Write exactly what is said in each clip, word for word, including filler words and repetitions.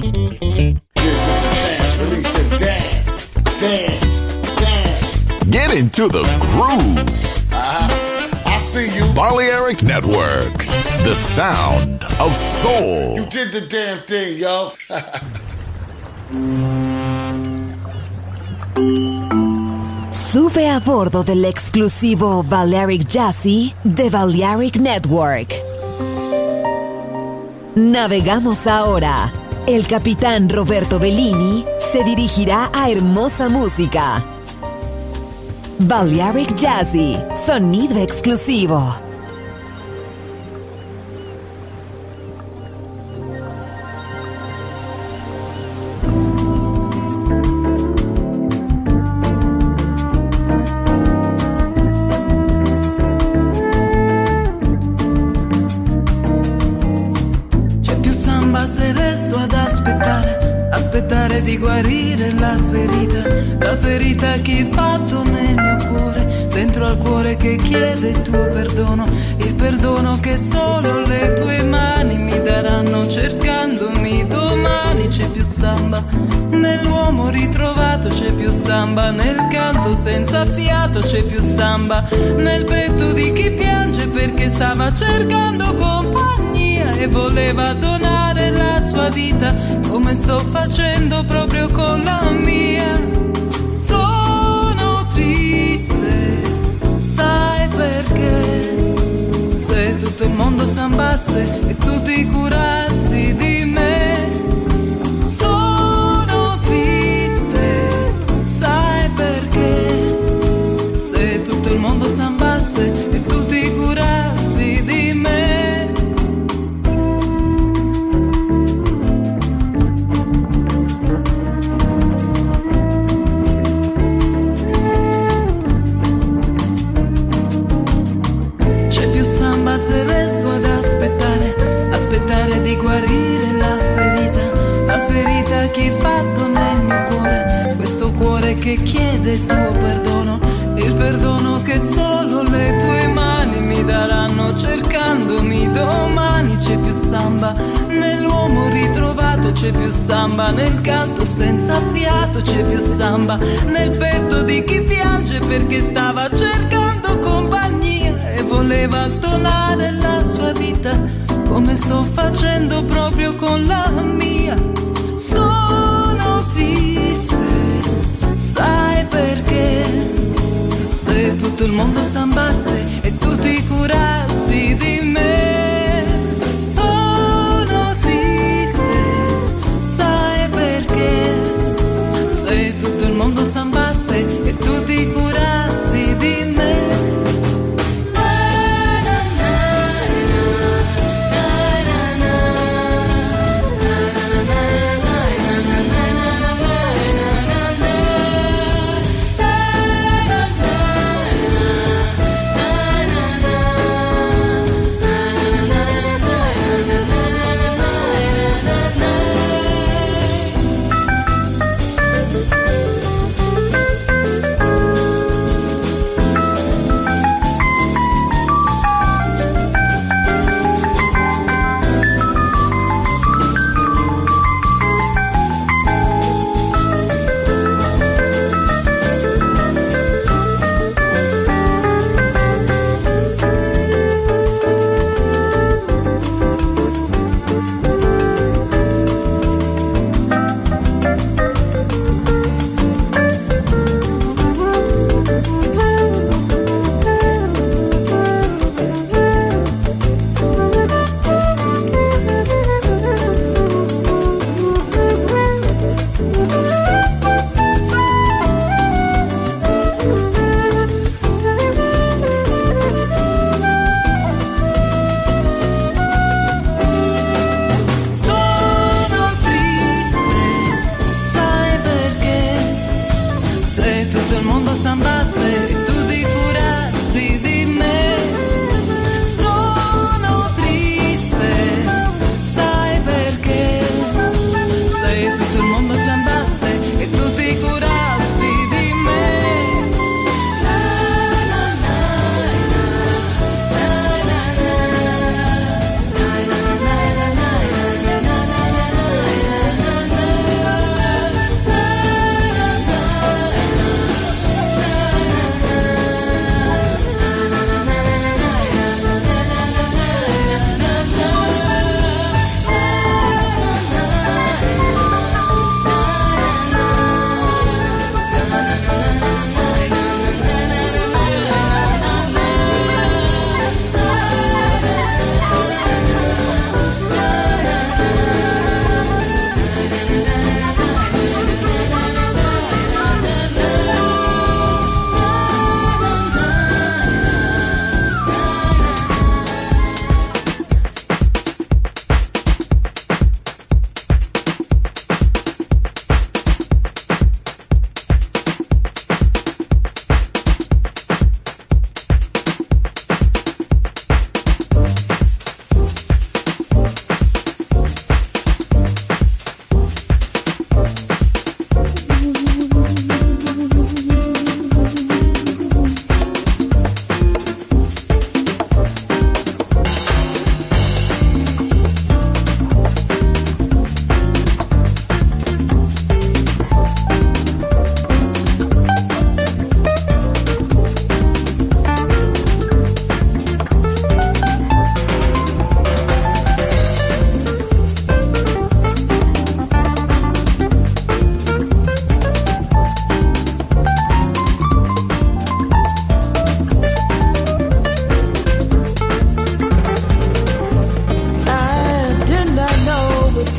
Get into the groove. Uh-huh. I see you. Balearic Network, the sound of soul. You did the damn thing, yo. Sube a bordo del exclusivo Balearic Jazzy de Balearic Network. Navegamos ahora. El capitán Roberto Bellini se dirigirá a hermosa música. Balearic Jazzy, sonido exclusivo. C'è più samba se resto ad aspettare, aspettare di guarire la ferita, la ferita che hai fatto nel mio cuore, dentro al cuore che chiede il tuo perdono, il perdono che solo le tue mani mi daranno cercandomi domani. C'è più samba nell'uomo ritrovato, c'è più samba nel canto senza fiato, c'è più samba nel petto di chi piange perché stava cercando compagnia e voleva donare la sua vita come sto facendo proprio con la mia. Sono triste, sai perché? Se tutto il mondo sambasse e tu ti curassi di me. Sono triste, sai perché? Se tutto il mondo sambasse e tu ti curassi di me. Se resto ad aspettare, aspettare di guarire la ferita, la ferita che hai fatto nel mio cuore, questo cuore che chiede il tuo perdono, il perdono che solo le tue mani mi daranno cercandomi domani. C'è più samba nell'uomo ritrovato, c'è più samba nel canto senza fiato, c'è più samba nel petto di chi piange perché stava cercando compagnia e voleva donare la sua vita come sto facendo proprio con la mia. Sono triste, sai perché? Se tutto il mondo sambasse e tu ti curassi di me. Sono triste, sai perché? Se tutto il mondo sambasse e tu ti curassi di me.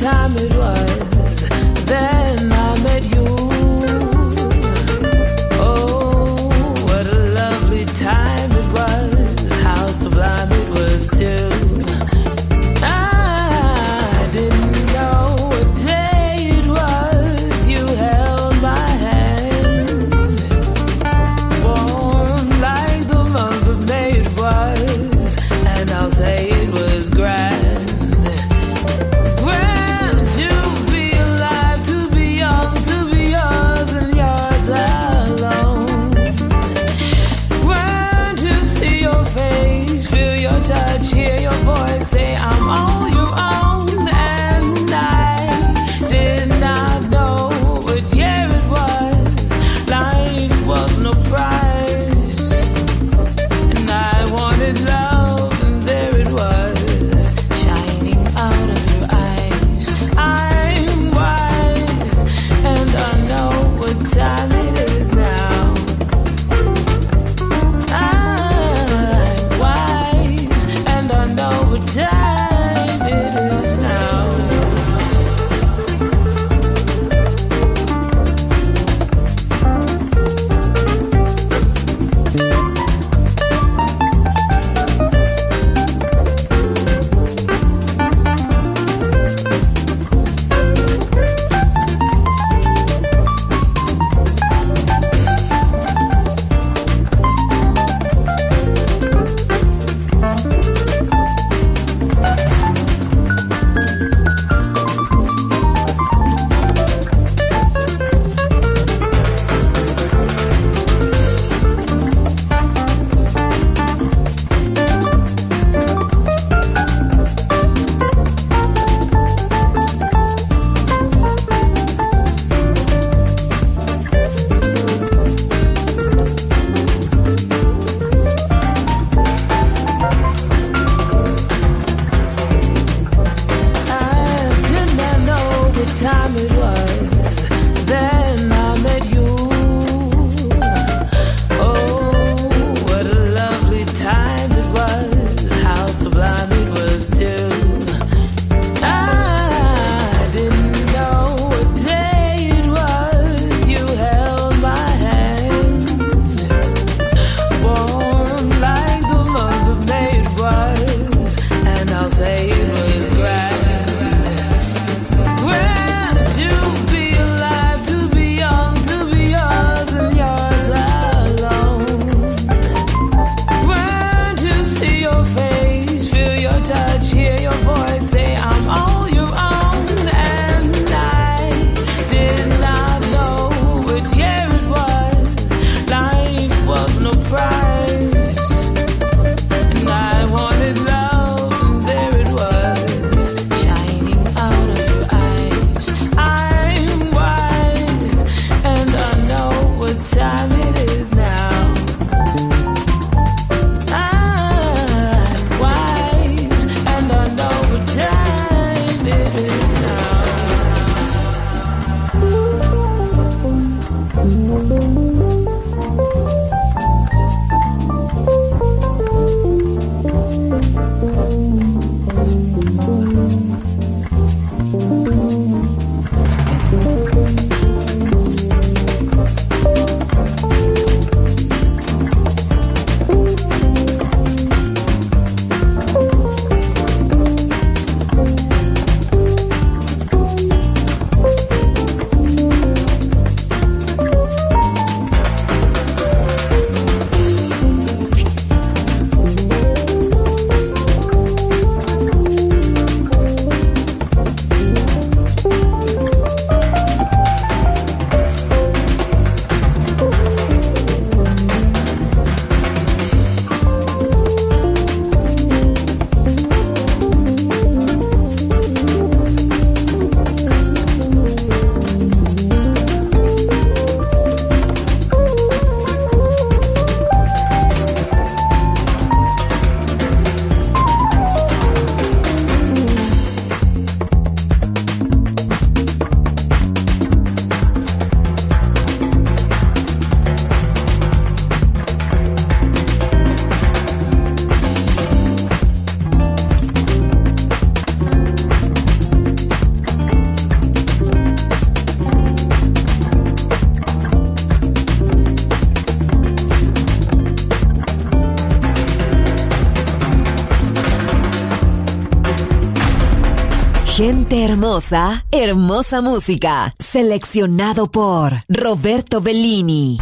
time it was. Then I met you. Oh, what a lovely time it was. How sublime it was too. I didn't know what day it was. You held my hand. Warm like the month of May it was. And I'll say it was grand. Grand to Hermosa, hermosa música. Seleccionado por Roberto Bellini.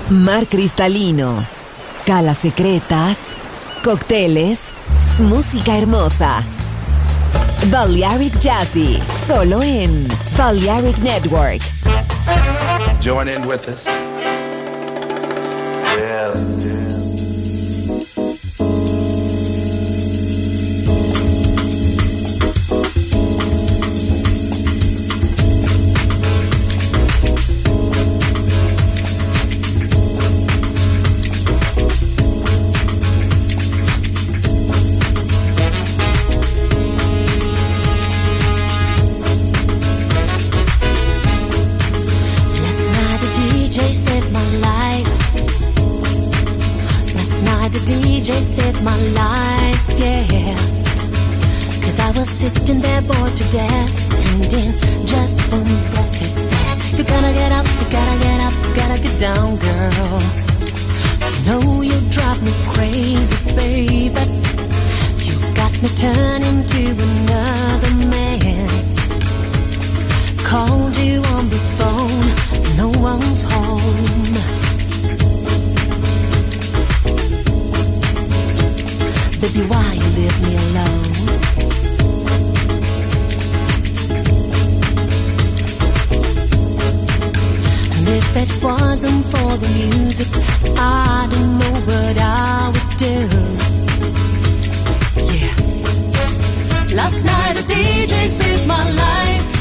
mar cristalino, calas secretas, cócteles, música hermosa. Balearic Jazzy, solo en Balearic Network. Join in with us. Yeah, yeah. My life, yeah. Cause I was sitting there bored to death, and in just one breath he said, you gotta get up, you gotta get up, you gotta get down, girl. You know you drive me crazy, baby. You got me turning to another man. Called you on the phone, no one's home. Baby, why you leave me alone? And if it wasn't for the music, I don't know what I would do. Yeah. Last night a D J saved my life.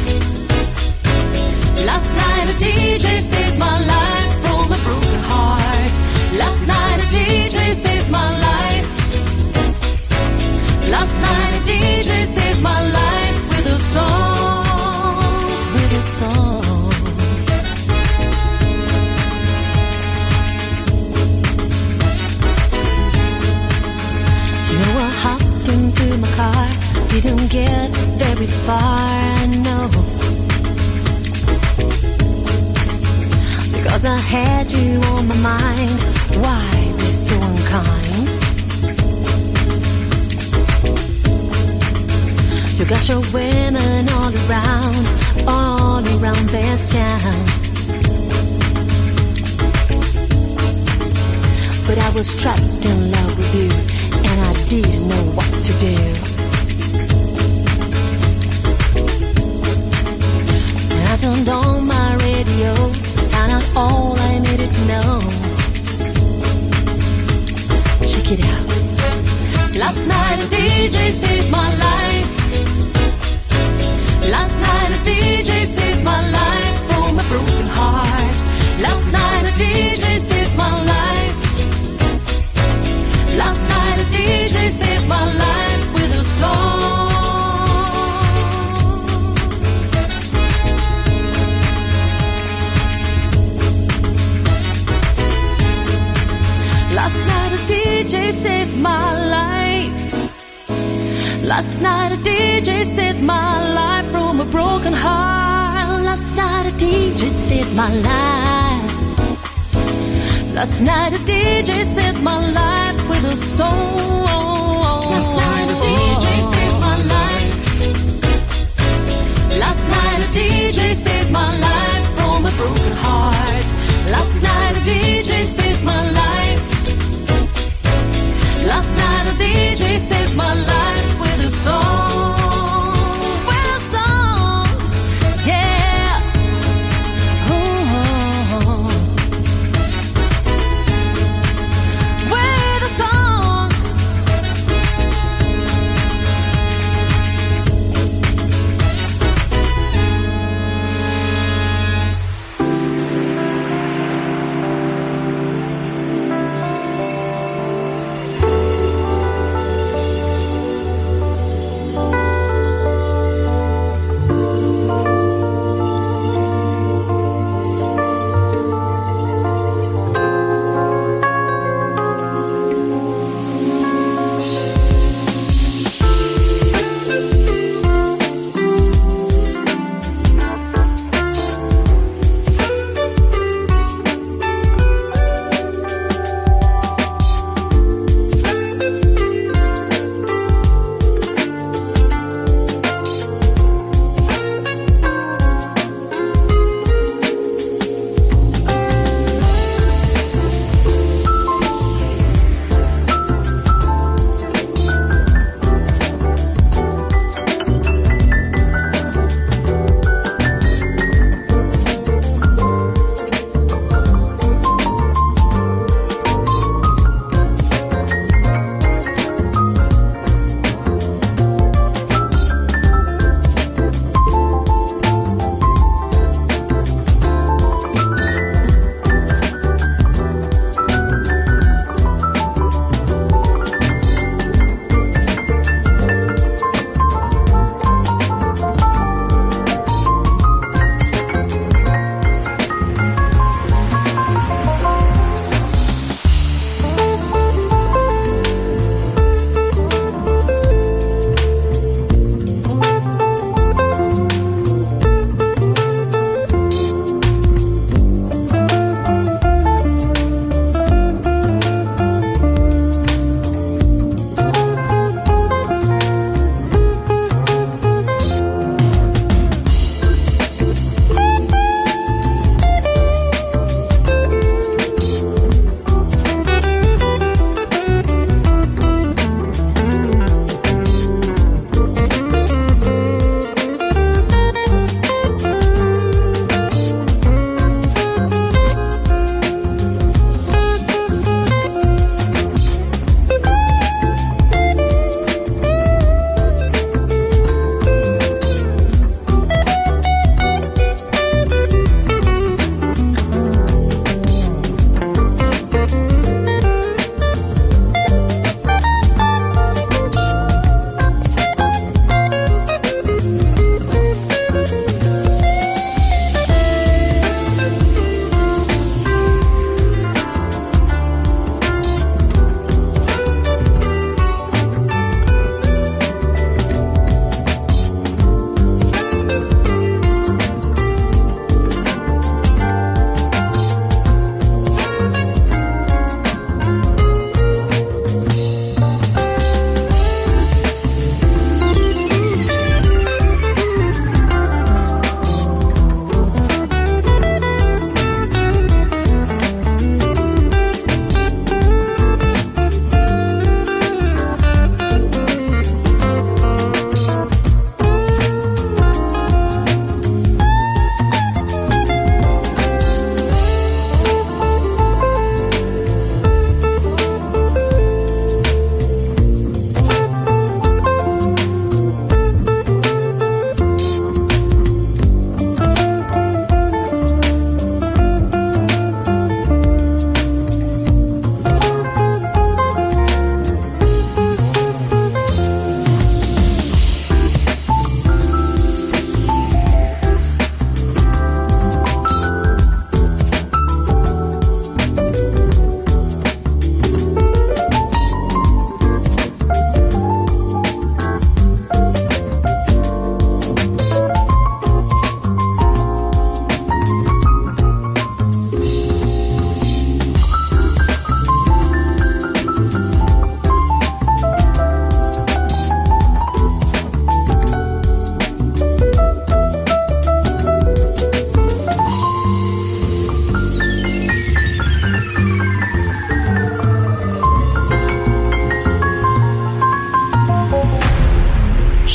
Last night a D J saved my life from a broken heart. Last night a D J saved my life. Last night a D J saved my life with a song, with a song. You know I hopped into my car, didn't get very far, I know. Because I had you on my mind, why be so unkind? You got your women all around, all around this town. But I was trapped in love with you, and I didn't know what to do. And I turned on my radio, found out all I needed to know. Check it out. Last night a D J saved my life. Last night a D J saved my life from a broken heart. Last night a D J saved my life. Last night a D J saved my life with a song. Last night a D J saved my life. Last night a D J saved my life from a broken heart. Last night a D J saved my life. Last night a D J saved my life with a song. Last night a D J saved my life. Last night a D J saved my life from a broken heart. Last night a D J saved my life. Last night a D J saved my life with a song, with a song, yeah. Oh, with a song.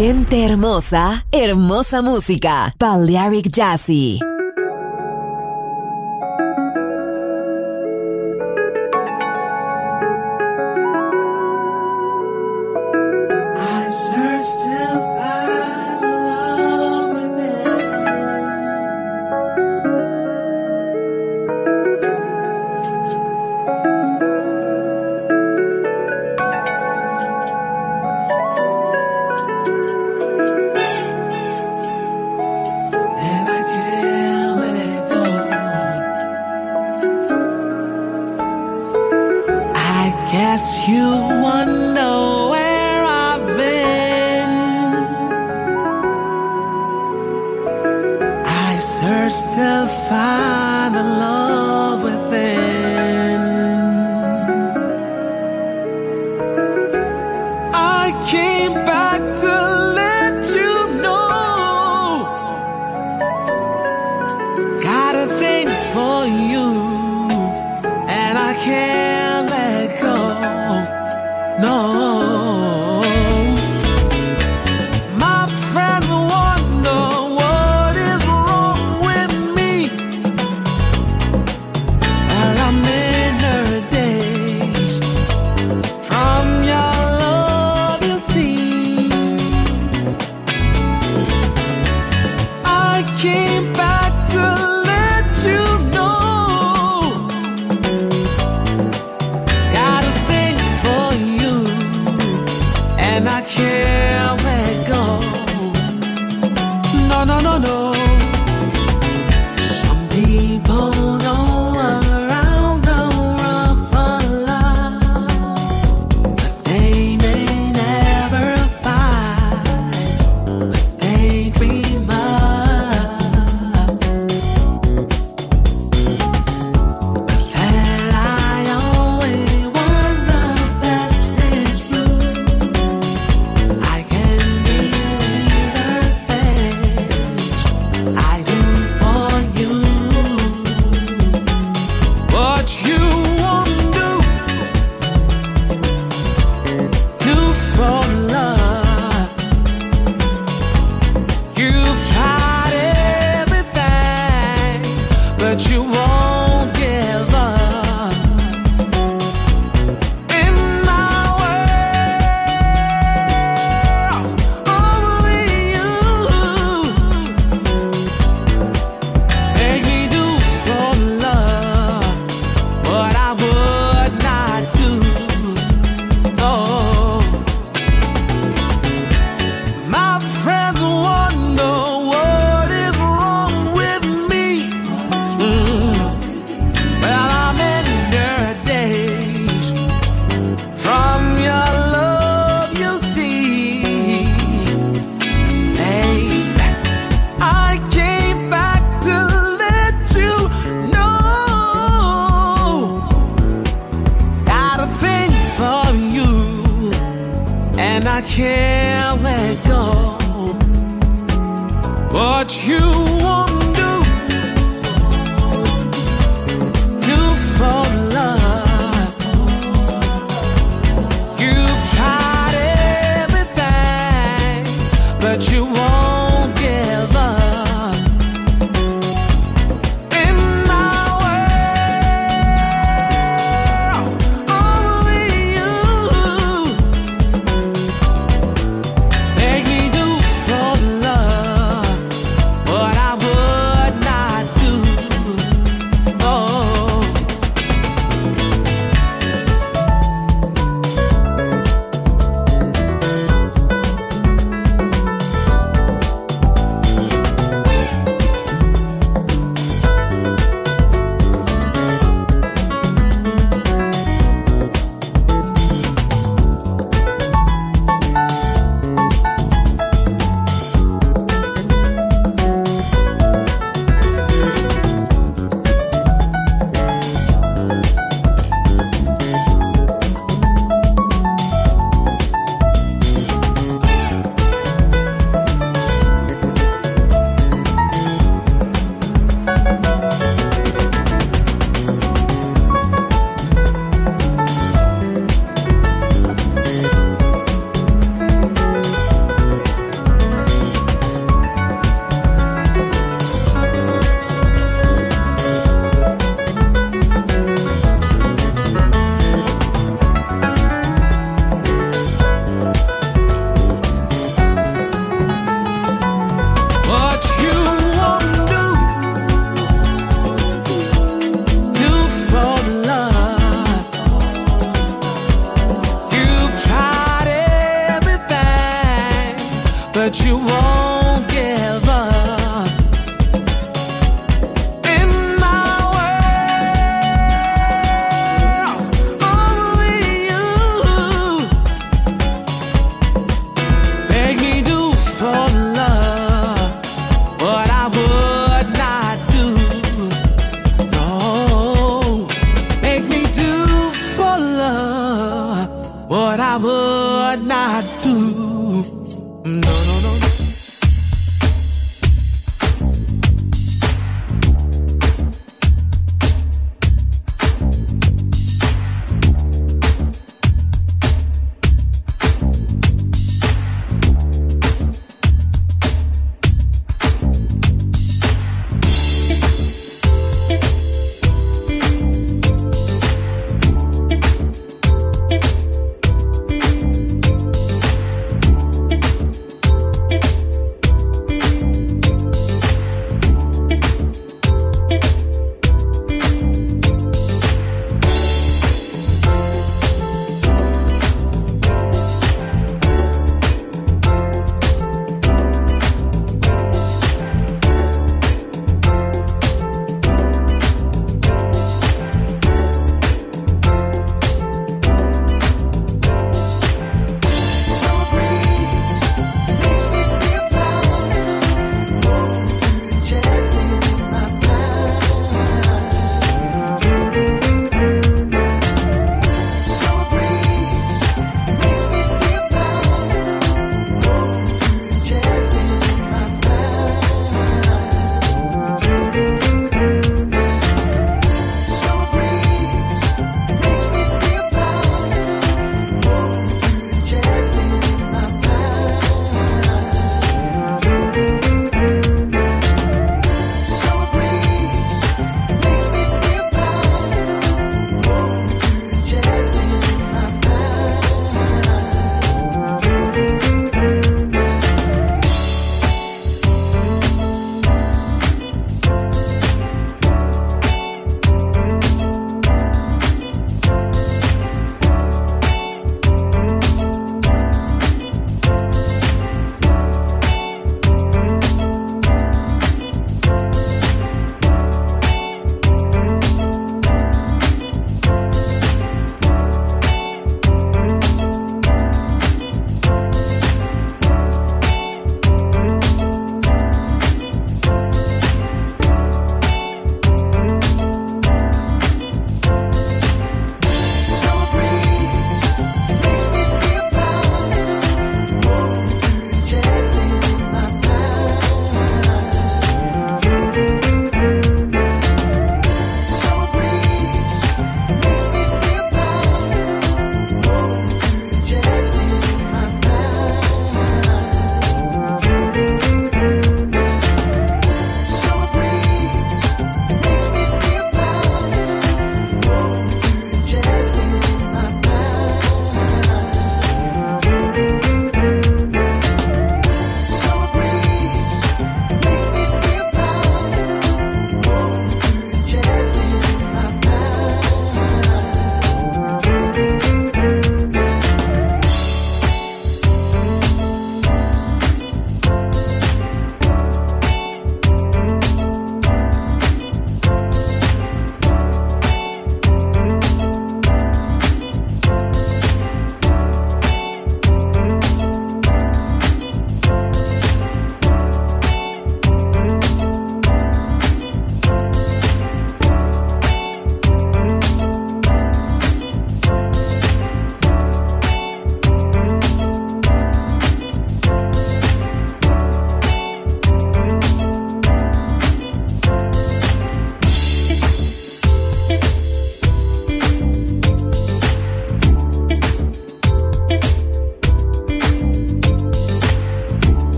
Gente hermosa, hermosa música. Balearic Jazzy. I searched till find love within. And I can't let it go. I guess you wonder where I've been. I searched to find the love within. I came back to let you know. Got a thing for you, and I can't let go. No. My friends wonder what is wrong with me. And I'm in her days. From your love, you see. I came back to let you know. Got a thing for you, and I can't let go. No, no, no, no. Some people go around the world for love, but they may never find what they dream of. But then I always want the best is true. I can believe the things I do for you. What you won't do, do for love. You've tried everything, but you won't give up. In my world, only you make me do for love what I would not do. No. My friends wonder what is wrong with me. Mm. Well, I'm in your days. From your love, you see. Babe, I came back to let you know. Got a thing for you, and I can't let go. What you won't do, do for love. You've tried everything, but you won't give up. In my world, only you make me do for love what that you won't give up. In my world, only you make me do for love what I would not do. No, make me do for love what I would not do. No, no, no, no.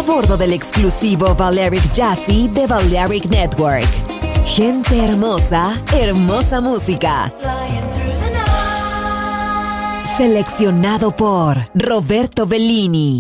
bordo del exclusivo Balearic Jazzy de Balearic Network. Gente hermosa, hermosa música. Seleccionado por Roberto Bellini.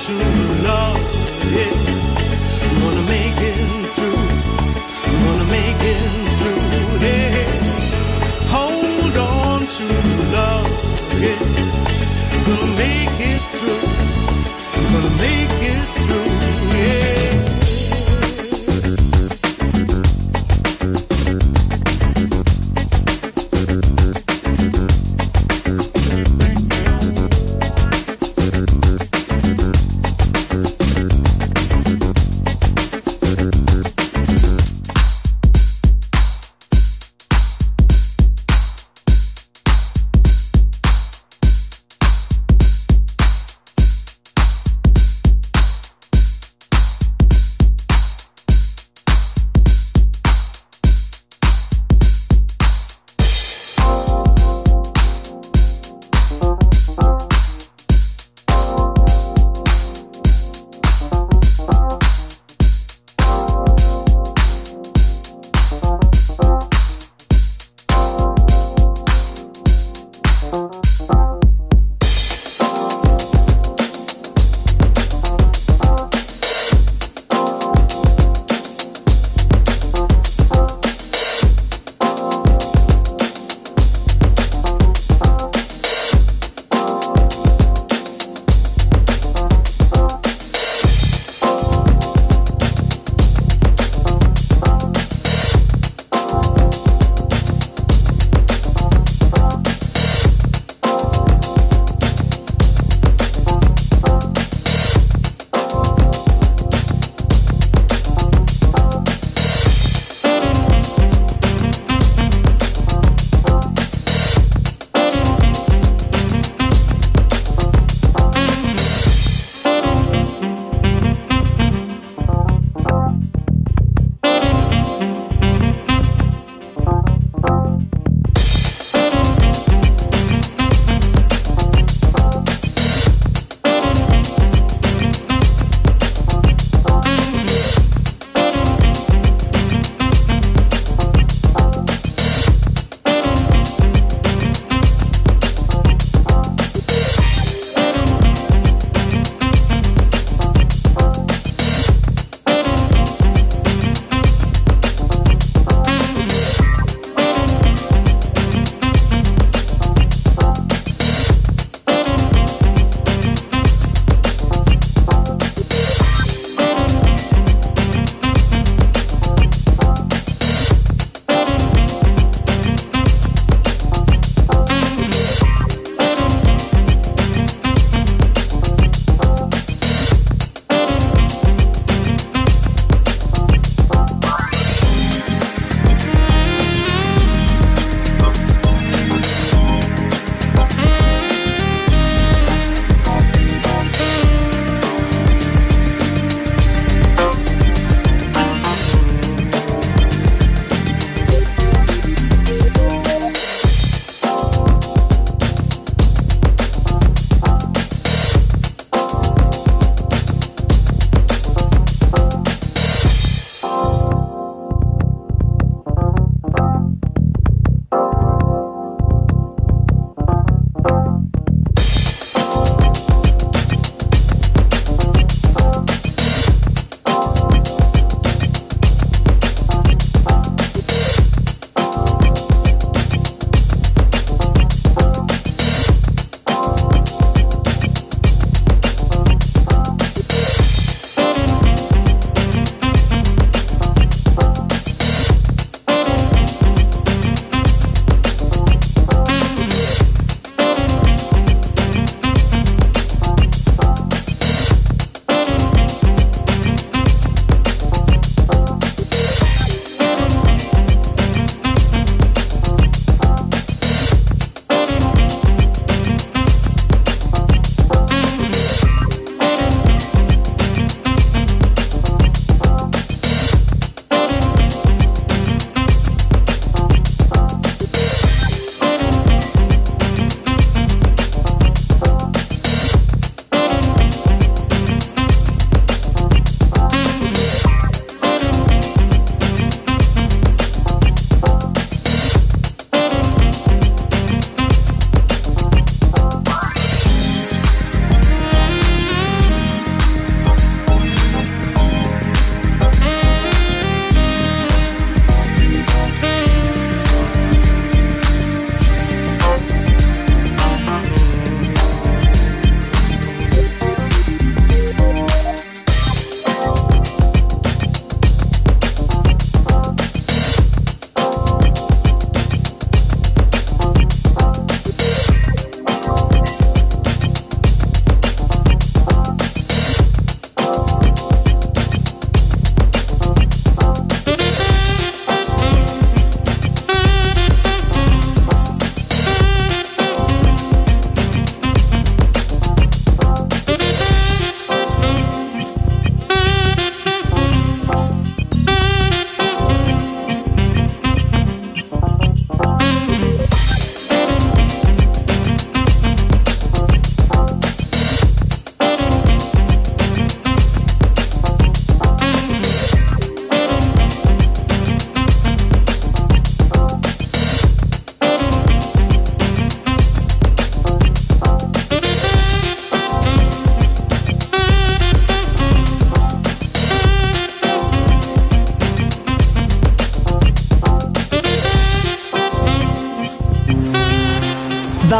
to love, yeah. I'm gonna make it through. I'm gonna make it through, yeah. Hold on to love, yeah. I'm gonna make it through. I'm gonna make it through, yeah.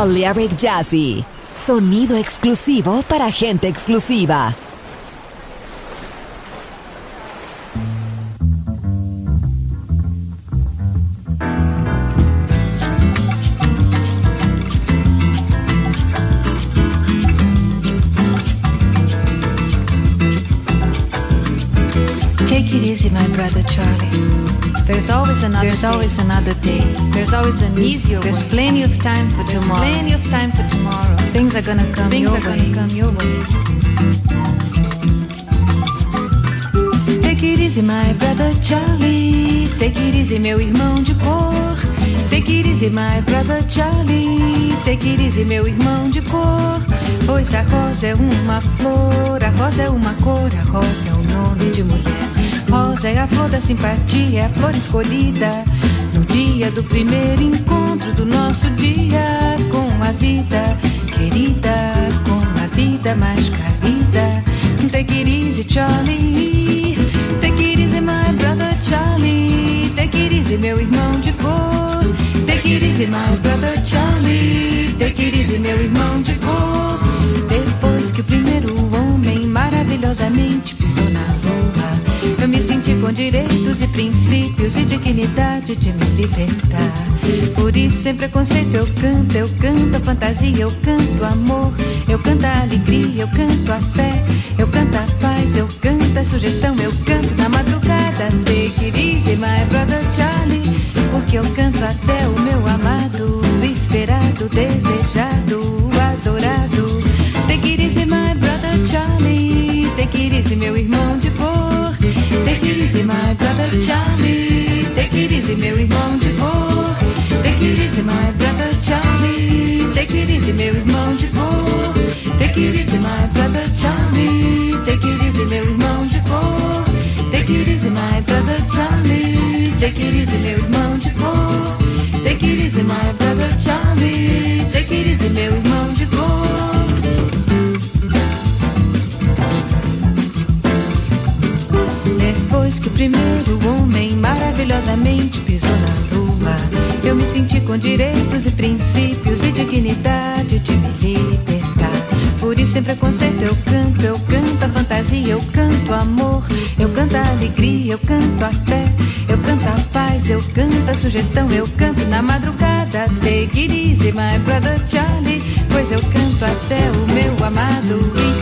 Balearic Jazzy. Sonido exclusivo para gente exclusiva. Take it easy, my brother Charlie. There's always another There's day. always another day. There's always an easier way. There's plenty of time for There's tomorrow. plenty of time for tomorrow. Things are gonna come Things your are way. Gonna come your way. Take it easy, my brother Charlie. Take it easy, meu irmão de cor. Take it easy, my brother Charlie. Take it easy, meu irmão de cor. Pois a rosa é uma flor, a rosa é uma cor, a rosa é o nome de mulher. Rosa é a flor da simpatia, é a flor escolhida no dia do primeiro encontro do nosso dia com a vida querida, com a vida mais querida. Take it easy, Charlie. Take it easy, my brother Charlie. Take it easy, meu irmão de cor. Take it easy, my brother Charlie. Take it easy, meu irmão de cor. Depois que o primeiro homem maravilhosamente pisou na lua, eu me senti com direitos e princípios e dignidade de me libertar. Por isso, sem preconceito, eu canto, eu canto a fantasia, eu canto amor, eu canto a alegria, eu canto a fé, eu canto a paz, eu canto a sugestão, eu canto na madrugada. Take it easy, my brother Charlie, porque eu canto até o meu amado, esperado, desejado, adorado. Take it easy, my brother Charlie. Take it easy, meu irmão de cor. Take it easy, my brother Charlie. Take it easy, meu irmão de cor. Take it easy, my brother Charlie. Take it easy, meu irmão de cor. Take it easy, my brother Charlie. Take it easy, meu irmão de cor. Take it easy, my brother Charlie. Take it easy, meu irmão de cor. Take it easy, my brother Charlie. Take it easy, meu irmão de cor. Depois que o primeiro homem maravilhosamente pisou na lua, eu me senti com direitos e princípios e dignidade de me libertar. Por isso, sem preconceito, eu canto, eu canto a fantasia, eu canto amor, eu canto a alegria, eu canto a fé, eu canto a paz, eu canto a sugestão, eu canto na madrugada. Take it easy, my brother Charlie, pois eu canto até o meu amado